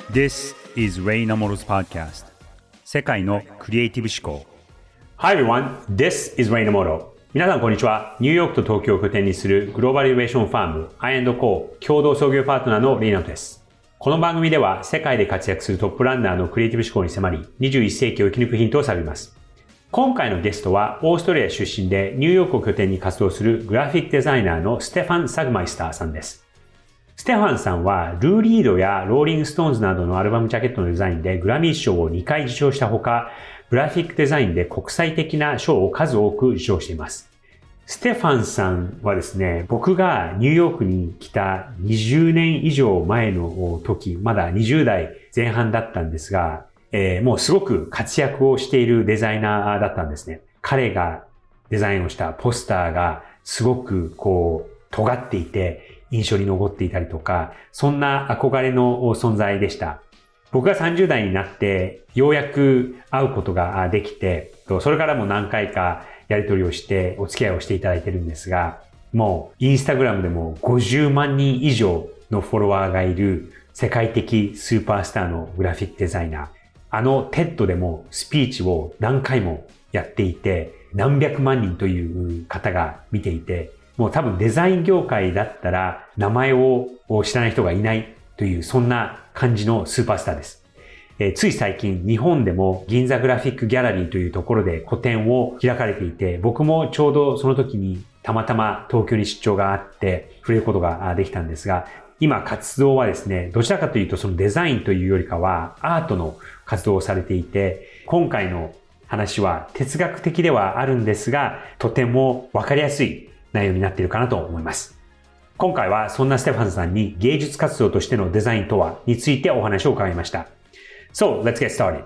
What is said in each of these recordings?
This is Ray Namoro's podcast 世界のクリエイティブ思考 Hi everyone, this is Ray Namoro 皆さんこんにちは。ニューヨークと東京を拠点にするグローバルイノベーションファーム I&Co 共同創業パートナーのレイナトです。この番組では世界で活躍するトップランナーのクリエイティブ思考に迫り21世紀を生き抜くヒントを探ります。今回のゲストはオーストラリア出身でニューヨークを拠点に活動するグラフィックデザイナーのステファン・サグマイスターさんです。ステファンさんはルーリードやローリングストーンズなどのアルバムジャケットのデザインでグラミー賞を2回受賞したほか、グラフィックデザインで国際的な賞を数多く受賞しています。ステファンさんはですね、僕がニューヨークに来た20年以上前の時、まだ20代前半だったんですが、もうすごく活躍をしているデザイナーだったんですね。彼がデザインをしたポスターがすごく尖っていて印象に残っていたりとか、そんな憧れの存在でした。僕が30代になってようやく会うことができて、それからも何回かやり取りをしてお付き合いをしていただいてるんですが、もうインスタグラムでも50万人以上のフォロワーがいる世界的スーパースターのグラフィックデザイナー。テッドでもスピーチを何回もやっていて、何百万人という方が見ていて、もう多分デザイン業界だったら名前を知らない人がいないという、そんな感じのスーパースターです。つい最近日本でも銀座グラフィックギャラリーというところで個展を開かれていて、僕もちょうどその時にたまたま東京に出張があって触れることができたんですが、今活動はですね、どちらかというとそのデザインというよりかはアートの活動をされていて、今回の話は哲学的ではあるんですが、とてもわかりやすい内容になっているかなと思います。今回はそんなステファンさんに芸術活動としてのデザインとはについてお話を伺いました。So, let's get started.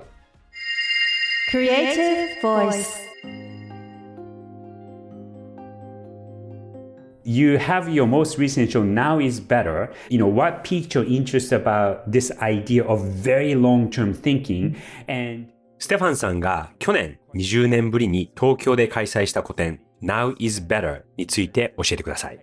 Creative Voice. You have your most recent show, Now is Better. What piqued your interest about this idea of very long-term thinking? And ステファンさんが去年20年ぶりに東京で開催した個展 Now is Better について教えてください。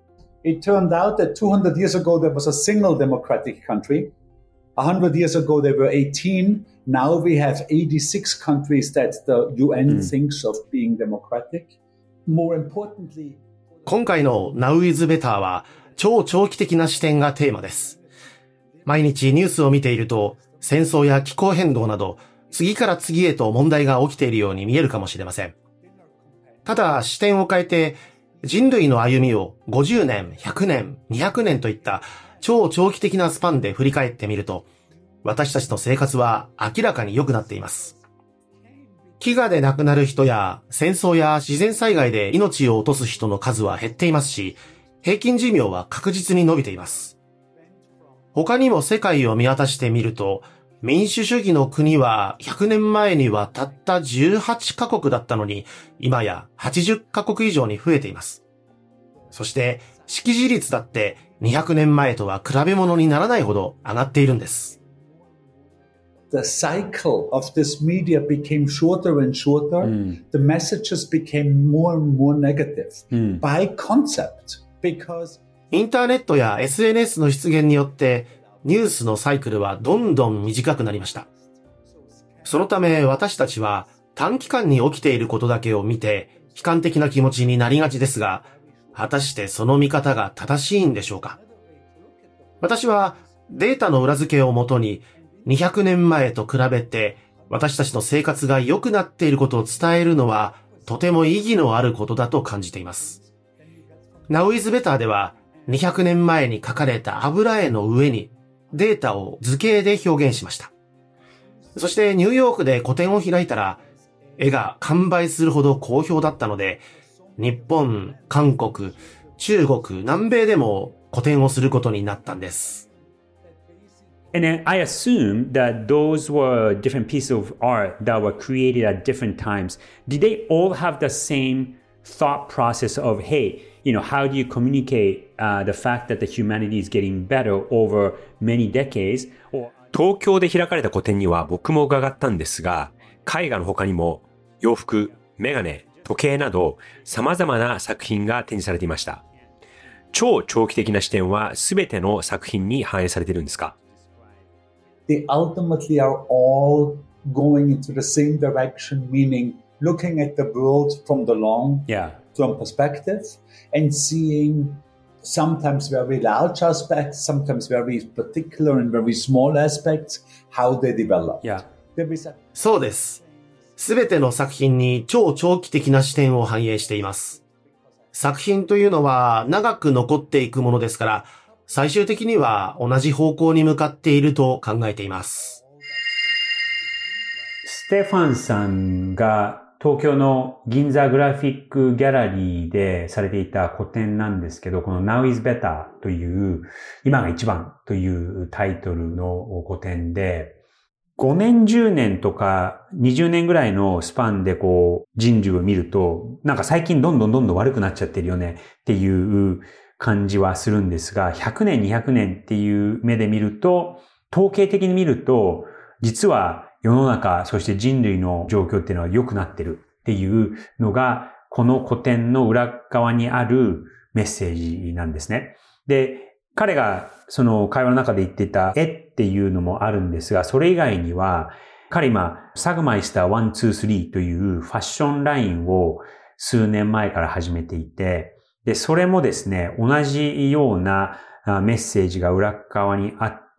It turned out that 200 years ago there was a single democratic country. 100 years ago there were 18. Now we have 86 countries that the UN thinks of being democratic. More importantly, 今回の Now is Better は超長期的な視点がテーマです。毎日ニュースを見ていると戦争や気候変動など次から次へと問題が起きているように見えるかもしれません。ただ視点を変えて人類の歩みを50年、100年、200年といった超長期的なスパンで振り返ってみると、私たちの生活は明らかに良くなっています。飢餓で亡くなる人や戦争や自然災害で命を落とす人の数は減っていますし、平均寿命は確実に伸びています。他にも世界を見渡してみると、民主主義の国は100年前にはたった18カ国だったのに、今や80カ国以上に増えています。そして識字率だって200年前とは比べ物にならないほど上がっているんです。 the cycle of this media became shorter and shorter. The messages became more and more negative by concept because インターネットや SNS の出現によってニュースのサイクルはどんどん短くなりました。そのため私たちは短期間に起きていることだけを見て悲観的な気持ちになりがちですが、果たしてその見方が正しいんでしょうか。私はデータの裏付けをもとに200年前と比べて私たちの生活が良くなっていることを伝えるのはとても意義のあることだと感じています。Now is Better では200年前に書かれた油絵の上にデータを図形で表現しました。そしてニューヨークで個展を開いたら絵が完売するほど好評だったので、日本、韓国、中国、南米でも個展をすることになったんです。 And then I assume that those were different pieces of art that were created at different times. Did they all have the same thought process of, hey, how do you communicate the fact that the humanity is getting better over many decades? 東京で開かれた個展には僕も伺ったんですが、絵画の他にも洋服、メガネ、時計など様々な作品が展示されていました。超長期的な視点は全ての作品に反映されているんですか？ they ultimately are all going into the same direction, meaning looking at the world from the long-term perspective and seeing sometimes very large aspects, sometimes very particular and very small aspects, how they develop. そうです。すべての作品に超長期的な視点を反映しています。作品というのは長く残っていくものですから、最終的には同じ方向に向かっていると考えています。 ステファンさんが東京の銀座グラフィックギャラリーでされていた個展なんですけど、この Now is Better という、今が一番というタイトルの個展で、5年、10年とか20年ぐらいのスパンで人類を見ると、なんか最近どんどん悪くなっちゃってるよねっていう感じはするんですが、100年、200年っていう目で見ると、統計的に見ると、実は世の中、そして人類の状況っていうのは良くなってるっていうのが、この古典の裏側にあるメッセージなんですね。で、彼がその会話の中で言っていた絵っていうのもあるんですが、それ以外には、彼今、サグマイスター123というファッションラインを数年前から始めていて、で、それもですね、同じようなメッセージが裏側にあって、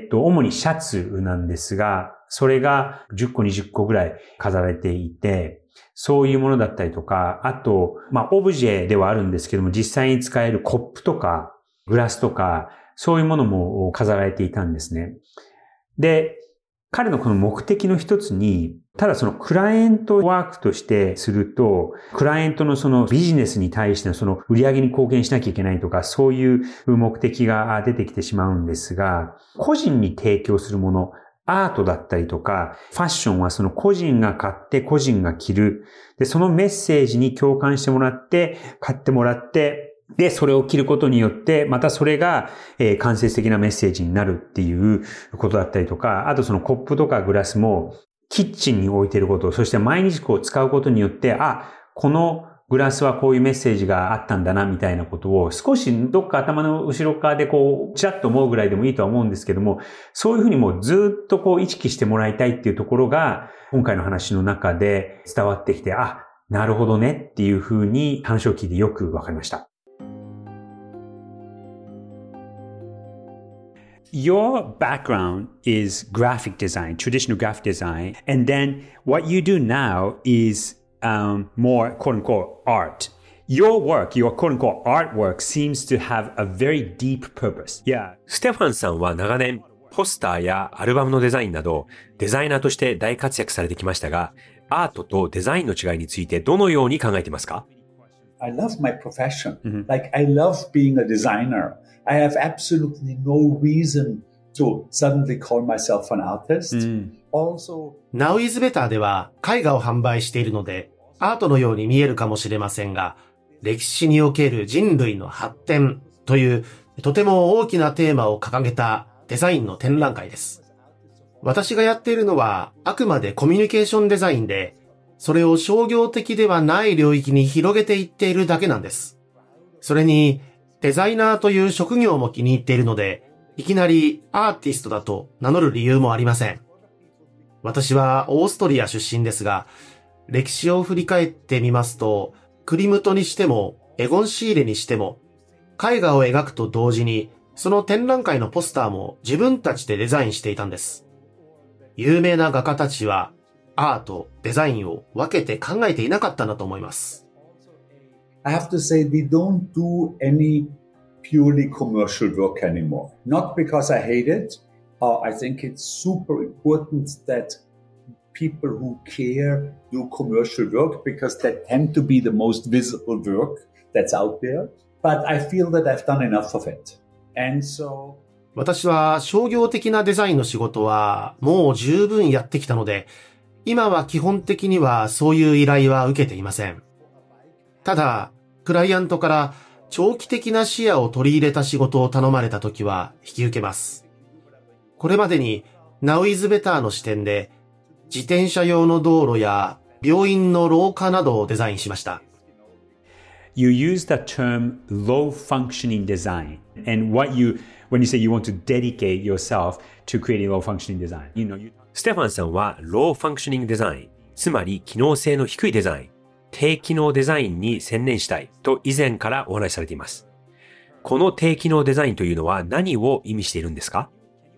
主にシャツなんですが、それが10個20個ぐらい飾られていて、そういうものだったりとか、あと、オブジェではあるんですけども、実際に使えるコップとか、グラスとか、そういうものも飾られていたんですね。で、彼のこの目的の一つに、ただそのクライアントワークとしてすると、クライアントのそのビジネスに対してのその売り上げに貢献しなきゃいけないとか、そういう目的が出てきてしまうんですが、個人に提供するもの、アートだったりとか、ファッションはその個人が買って個人が着る。で、そのメッセージに共感してもらって、買ってもらって、で、それを着ることによって、またそれが、間接的なメッセージになるっていうことだったりとか、あとそのコップとかグラスも、キッチンに置いていること、そして毎日使うことによって、このグラスはこういうメッセージがあったんだな、みたいなことを少しどっか頭の後ろ側でちらっと思うぐらいでもいいとは思うんですけども、そういうふうにもうずっと意識してもらいたいっていうところが、今回の話の中で伝わってきて、なるほどねっていうふうに話を聞いてよくわかりました。Your background is graphic design, traditional graphic design, and then what you do now is more quote-unquote art. Your work, your quote-unquote artwork seems to have a very deep purpose. Yeah. ステファンさんは長年、ポスターやアルバムのデザインなど、デザイナーとして大活躍されてきましたが、アートとデザインの違いについてどのように考えていますか？ I love my profession. Like, I love being a designer.I have absolutely no reason to suddenly call myself an artist. Also, Now is Better では絵画を販売しているので、アートのように見えるかもしれませんが、歴史における人類の発展というとても大きなテーマを掲げたデザインの展覧会です。私がやっているのはあくまでコミュニケーションデザインで、それを商業的ではない領域に広げていっているだけなんです。それに、デザイナーという職業も気に入っているので、いきなりアーティストだと名乗る理由もありません。私はオーストリア出身ですが、歴史を振り返ってみますと、クリムトにしてもエゴン・シーレにしても、絵画を描くと同時に、その展覧会のポスターも自分たちでデザインしていたんです。有名な画家たちは、アート、デザインを分けて考えていなかったんだと思います。 I have to say, we don't do any purely commercial work anymore. Not because I hate it. I think it's super important that people who care do commercial work because that tend to be the most visible work that's out there. But I feel that I've done enough of it. And so... 私は商業的なデザインの仕事はもう十分やってきたので、今は基本的にはそういう依頼は受けていません。ただ、クライアントから長期的な視野を取り入れた仕事を頼まれたときは引き受けます。これまでに Now is Better の視点で自転車用の道路や病院の廊下などをデザインしました。 you use the term low functioning design. And when you say you want to dedicate yourself to creating low functioning design, ステファンさんは Low Functioning Design、つまり機能性の低いデザイン、低機能デザインに専念したいと以前からお話しされています。この低機能デザインというのは何を意味しているんですか？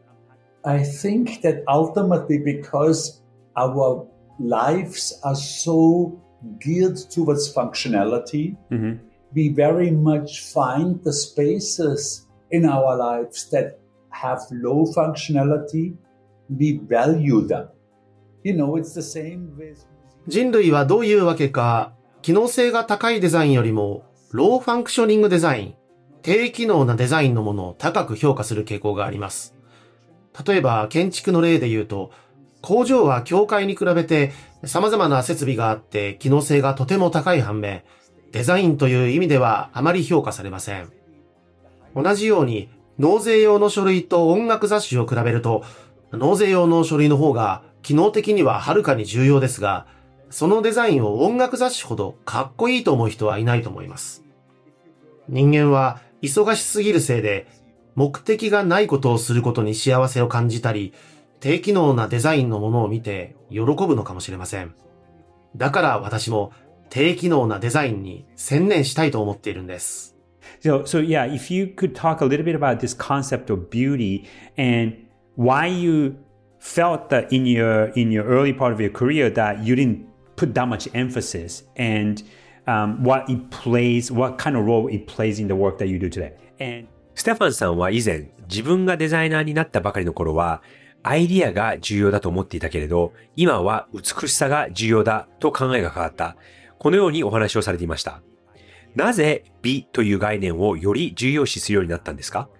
I think that ultimately because our lives are so geared towards functionality, we very much find the spaces in our lives that have low functionality, we value them. It's the same with... 人類はどういうわけか、機能性が高いデザインよりも、ローファンクショニングデザイン、低機能なデザインのものを高く評価する傾向があります。例えば、建築の例で言うと、工場は教会に比べて様々な設備があって機能性がとても高い反面、デザインという意味ではあまり評価されません。同じように、納税用の書類と音楽雑誌を比べると、納税用の書類の方が機能的にははるかに重要ですが、そのデザインを音楽雑誌ほどかっこいいと思う人はいないと思います。人間は忙しすぎるせいで、目的がないことをすることに幸せを感じたり、低機能なデザインのものを見て喜ぶのかもしれません。だから私も低機能なデザインに専念したいと思っているんです。 So yeah, if you could talk a little bit about this concept of beauty and why you felt that in your early part of your career that you didn't put that much emphasis and what kind of role it plays in the work that you do today. And ステファンさんは以前、自分がデザイナーになったばかりの頃は、アイディアが重要だと思っていたけれど、今は美しさが重要だと考えが変わった。このようにお話をされていました。なぜ美という概念をより重要視するようになったんですか？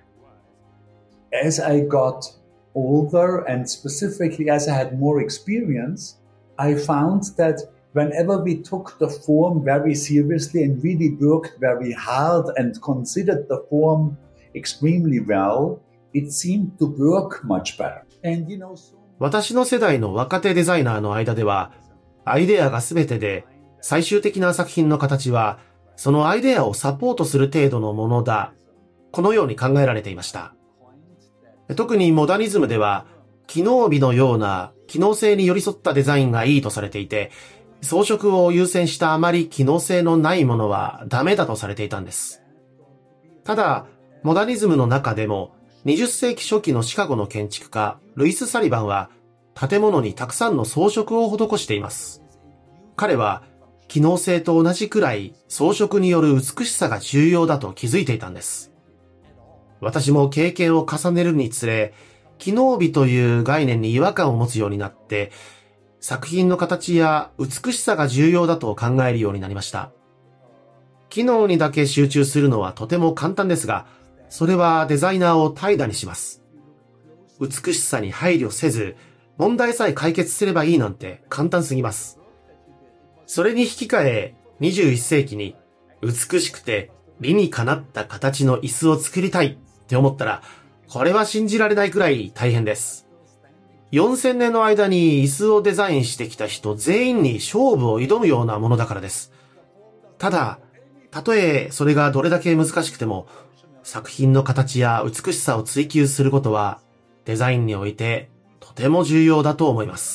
As I got older and specifically as I had more experience, I found that whenever we took the form very seriously and really worked very hard and considered the form extremely well, it seemed to work much better. And 私の世代の若手デザイナーの間では、アイデアが全てで、最終的な作品の形は、そのアイデアをサポートする程度のものだ。このように考えられていました。特にモダニズムでは、機能美のような機能性に寄り添ったデザインがいいとされていて、装飾を優先したあまり機能性のないものはダメだとされていたんです。ただ、モダニズムの中でも、20世紀初期のシカゴの建築家、ルイス・サリバンは、建物にたくさんの装飾を施しています。彼は、機能性と同じくらい装飾による美しさが重要だと気づいていたんです。私も経験を重ねるにつれ、機能美という概念に違和感を持つようになって、作品の形や美しさが重要だと考えるようになりました。機能にだけ集中するのはとても簡単ですが、それはデザイナーを怠惰にします。美しさに配慮せず、問題さえ解決すればいいなんて簡単すぎます。それに引き換え、21世紀に美しくて理にかなった形の椅子を作りたいって思ったら、これは信じられないくらい大変です。4000年の間に椅子をデザインしてきた人全員に勝負を挑むようなものだからです。ただ、たとえそれがどれだけ難しくても、作品の形や美しさを追求することは、デザインにおいてとても重要だと思います。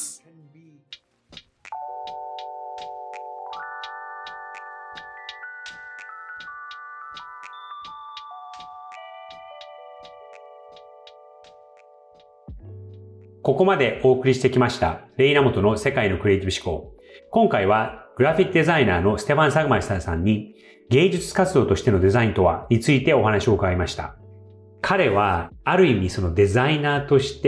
ここまでお送りしてきました、レイナモトの世界のクリエイティブ思考。今回は、グラフィックデザイナーのステファン・サグマイスターさんに、芸術活動としてのデザインとはについてお話を伺いました。彼は、ある意味そのデザイナーとして、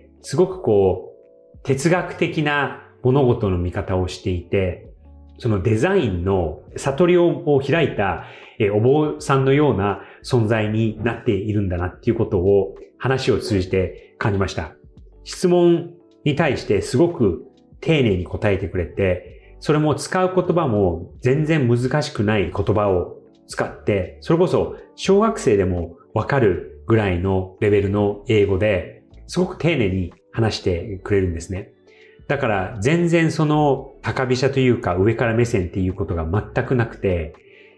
すごく哲学的な物事の見方をしていて、そのデザインの悟りを開いたお坊さんのような存在になっているんだなっていうことを話を通じて感じました。質問に対してすごく丁寧に答えてくれて、それも使う言葉も全然難しくない言葉を使って、それこそ小学生でもわかるぐらいのレベルの英語ですごく丁寧に話してくれるんですね。だから全然その高飛車というか上から目線っていうことが全くなくて、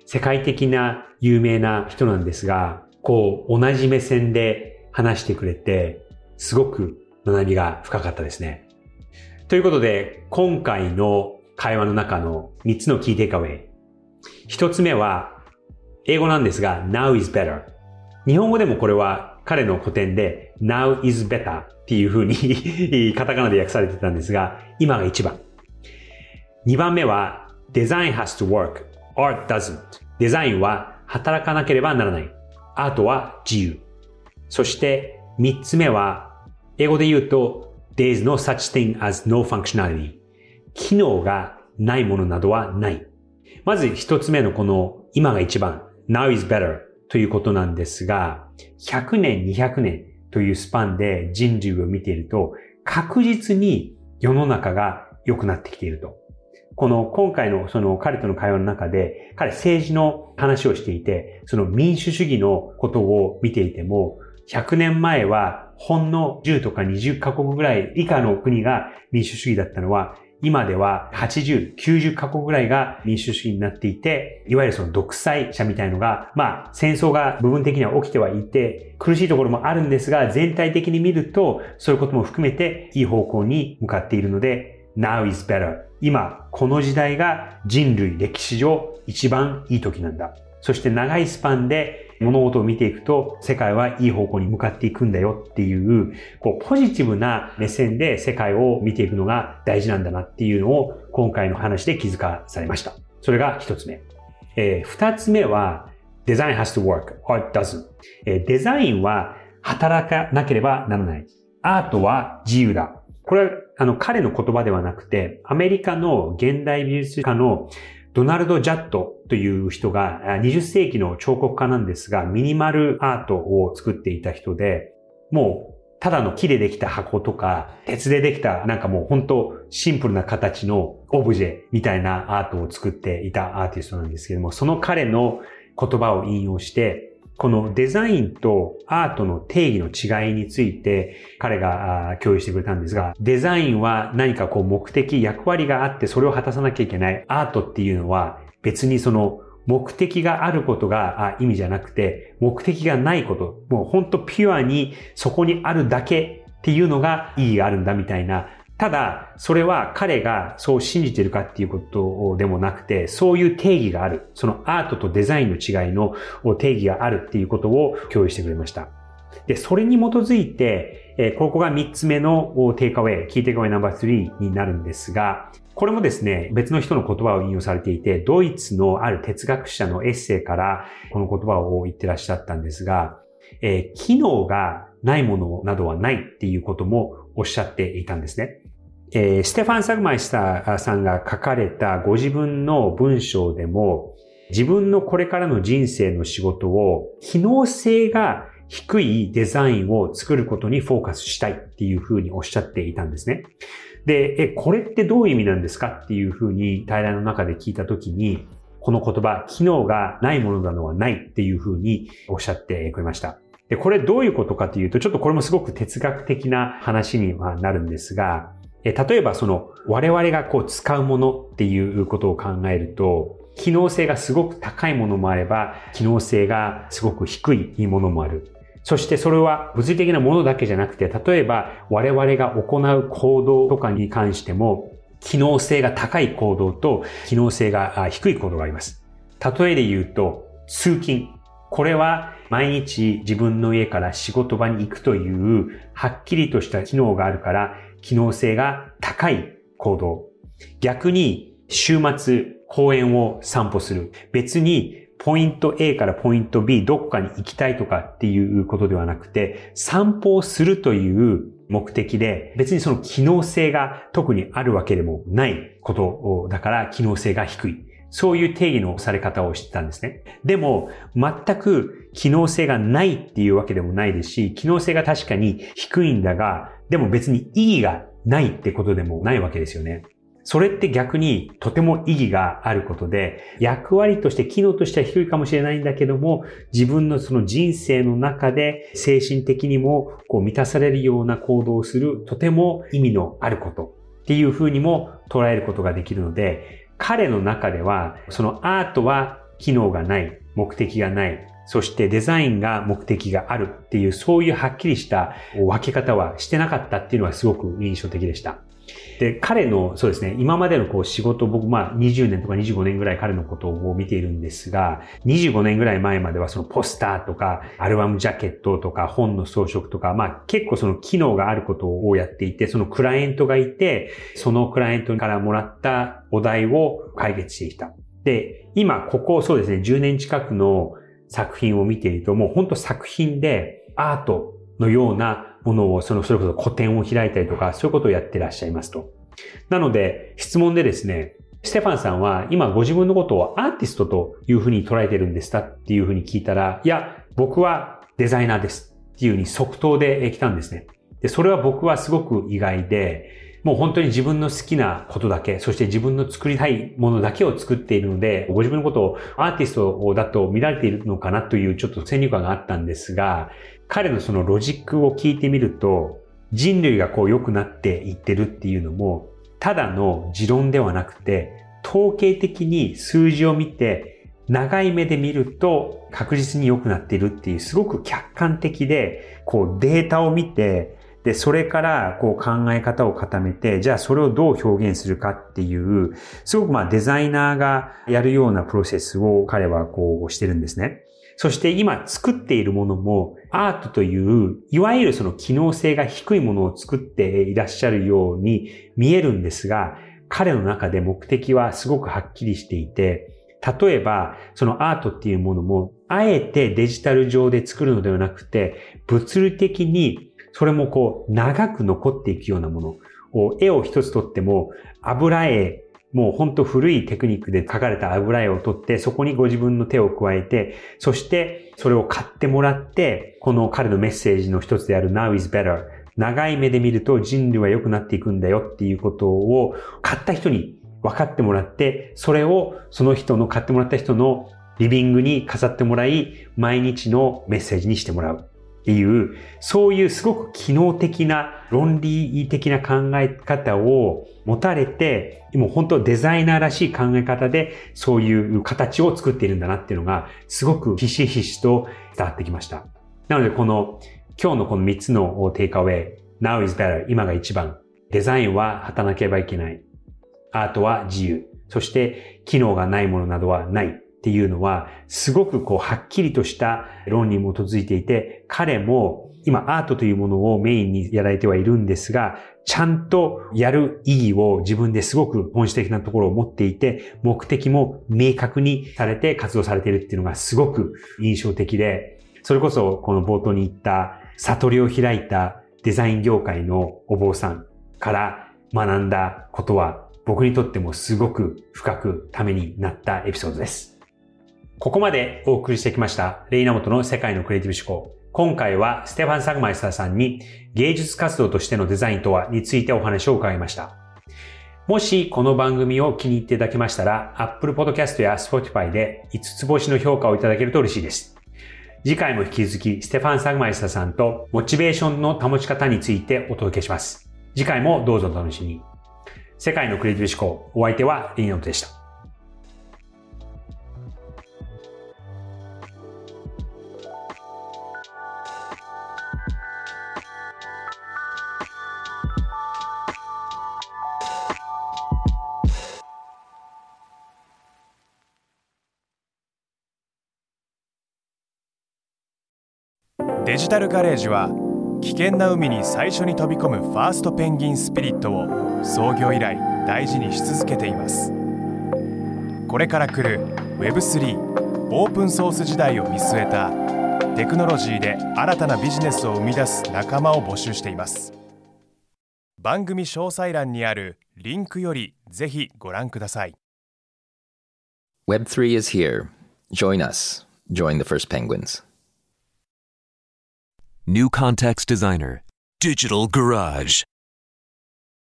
世界的な有名な人なんですが、こう同じ目線で話してくれて、すごく学びが深かったですね。ということで、今回の会話の中の3つのキーテイクアウェイ。1つ目は、英語なんですが、now is better。日本語でもこれは彼の古典で now is better っていう風にカタカナで訳されてたんですが、今が一番。2番目は design has to work, art doesn't。デザインは働かなければならない。アートは自由。そして3つ目は、英語で言うと there is no such thing as no functionality。機能がないものなどはない。まず1つ目のこの今が一番 now is betterということなんですが、100年、200年というスパンで人類を見ていると、確実に世の中が良くなってきていると。この今回のその彼との会話の中で、彼政治の話をしていて、その民主主義のことを見ていても、100年前はほんの10とか20カ国ぐらい以下の国が民主主義だったのは、今では80、90カ国ぐらいが民主主義になっていて、いわゆるその独裁者みたいのが、戦争が部分的には起きてはいて、苦しいところもあるんですが、全体的に見ると、そういうことも含めていい方向に向かっているので、now is better。今、この時代が人類歴史上一番いい時なんだ。そして長いスパンで物事を見ていくと、世界はいい方向に向かっていくんだよっていう、ポジティブな目線で世界を見ていくのが大事なんだなっていうのを今回の話で気づかされました。それが一つ目。二つ目は、Design has to work, art doesn't。デザインは働かなければならない。アートは自由だ。これは彼の言葉ではなくて、アメリカの現代美術家のドナルド・ジャットという人が20世紀の彫刻家なんですが、ミニマルアートを作っていた人で、もうただの木でできた箱とか、鉄でできたなんかもう本当シンプルな形のオブジェみたいなアートを作っていたアーティストなんですけども、その彼の言葉を引用して、このデザインとアートの定義の違いについて彼が共有してくれたんですが、デザインは何か目的、役割があってそれを果たさなきゃいけない。アートっていうのは別にその目的があることが意味じゃなくて、目的がないこと、もう本当ピュアにそこにあるだけっていうのが意義があるんだみたいな。ただ、それは彼がそう信じているかっていうことでもなくて、そういう定義がある。そのアートとデザインの違いの定義があるっていうことを共有してくれました。で、それに基づいて、ここが3つ目のテイクアウェイ、キーテイクアウェイナンバー3になるんですが、これもですね、別の人の言葉を引用されていて、ドイツのある哲学者のエッセイからこの言葉を言ってらっしゃったんですが、機能がないものなどはないっていうこともおっしゃっていたんですね。ステファン・サグマイスターさんが書かれたご自分の文章でも、自分のこれからの人生の仕事を機能性が低いデザインを作ることにフォーカスしたいっていうふうにおっしゃっていたんですね。で、これってどういう意味なんですかっていうふうに対談の中で聞いたときに、この言葉、機能がないものなのはないっていうふうにおっしゃってくれました。で、これどういうことかというと、ちょっとこれもすごく哲学的な話にはなるんですが、例えば我々が使うものっていうことを考えると、機能性がすごく高いものもあれば、機能性がすごく低いものもある。そしてそれは物理的なものだけじゃなくて、例えば我々が行う行動とかに関しても、機能性が高い行動と機能性が低い行動があります。例えで言うと、通勤。これは毎日自分の家から仕事場に行くというはっきりとした機能があるから、機能性が高い行動。逆に週末公園を散歩する。別にポイント A からポイント B どこかに行きたいとかっていうことではなくて、散歩をするという目的で、別にその機能性が特にあるわけでもないことだから機能性が低い。そういう定義のされ方をしてたんですね。でも、全く機能性がないっていうわけでもないですし、機能性が確かに低いんだが、でも別に意義がないってことでもないわけですよね。それって逆にとても意義があることで、役割として機能としては低いかもしれないんだけども、自分のその人生の中で精神的にも満たされるような行動をするとても意味のあることっていうふうにも捉えることができるので、彼の中ではそのアートは機能がない、目的がない、そしてデザインが目的があるっていう、そういうはっきりした分け方はしてなかったっていうのはすごく印象的でした。で、彼の、そうですね、今までの仕事、僕20年とか25年ぐらい彼のことを見ているんですが、25年ぐらい前まではそのポスターとか、アルバムジャケットとか、本の装飾とか、結構その機能があることをやっていて、そのクライアントがいて、そのクライアントからもらったお題を解決していた。で、今、ここそうですね、10年近くの作品を見ていると、もう本当作品でアートのようなものを、それこそ個展を開いたりとか、そういうことをやってらっしゃいますと。なので、質問でですね、ステファンさんは今ご自分のことをアーティストというふうに捉えてるんですかっていうふうに聞いたら、いや、僕はデザイナーですっていうふうに即答で来たんですね。で、それは僕はすごく意外で、もう本当に自分の好きなことだけ、そして自分の作りたいものだけを作っているので、ご自分のことをアーティストだと見られているのかなというちょっと先入観があったんですが、彼のそのロジックを聞いてみると、人類が良くなっていってるっていうのも、ただの持論ではなくて、統計的に数字を見て、長い目で見ると確実に良くなっているっていう、すごく客観的で、データを見て、で、それから考え方を固めて、じゃあそれをどう表現するかっていう、すごくデザイナーがやるようなプロセスを彼はしてるんですね。そして今作っているものもアートという、いわゆるその機能性が低いものを作っていらっしゃるように見えるんですが、彼の中で目的はすごくはっきりしていて、例えばそのアートっていうものも、あえてデジタル上で作るのではなくて、物理的にそれも長く残っていくようなものを、絵を一つとっても油絵、もう本当古いテクニックで描かれた油絵を取って、そこにご自分の手を加えて、そしてそれを買ってもらって、この彼のメッセージの一つである Now is better。長い目で見ると人類は良くなっていくんだよっていうことを買った人に分かってもらって、それをその人の買ってもらった人のリビングに飾ってもらい、毎日のメッセージにしてもらう。っていう、そういうすごく機能的な論理的な考え方を持たれて、もう本当デザイナーらしい考え方でそういう形を作っているんだなっていうのがすごくひしひしと伝わってきました。なので今日のこの3つのテイクアウェイ、Now is better、今が一番、デザインは果たなければいけない、アートは自由、そして機能がないものなどはない。っていうのは、すごくはっきりとした論に基づいていて、彼も今アートというものをメインにやられてはいるんですが、ちゃんとやる意義を自分ですごく本質的なところを持っていて、目的も明確にされて活動されているっていうのがすごく印象的で、それこそこの冒頭に言った悟りを開いたデザイン業界のお坊さんから学んだことは、僕にとってもすごく深くためになったエピソードです。ここまでお送りしてきましたレイナモトの世界のクリエイティブ思考。今回はステファン・サグマイスターさんに芸術活動としてのデザインとはについてお話を伺いました。もしこの番組を気に入っていただけましたら Apple Podcast や Spotify で5つ星の評価をいただけると嬉しいです。次回も引き続きステファン・サグマイスターさんとモチベーションの保ち方についてお届けします。次回もどうぞお楽しみに。世界のクリエイティブ思考、お相手はレイナモトでした。 デジタルガレージは危険な海に最初に飛び込むファーストペンギンスピリットを創業以来大事にし続けています。これから来る Web3 オープンソース時代を見据えたテクノロジーで新たなビジネスを生み出す仲間を募集しています。番組詳細欄にあるリンクよりぜひご覧ください。 Web3 is here. Join us. Join the first penguins.New Context Designer, Digital Garage.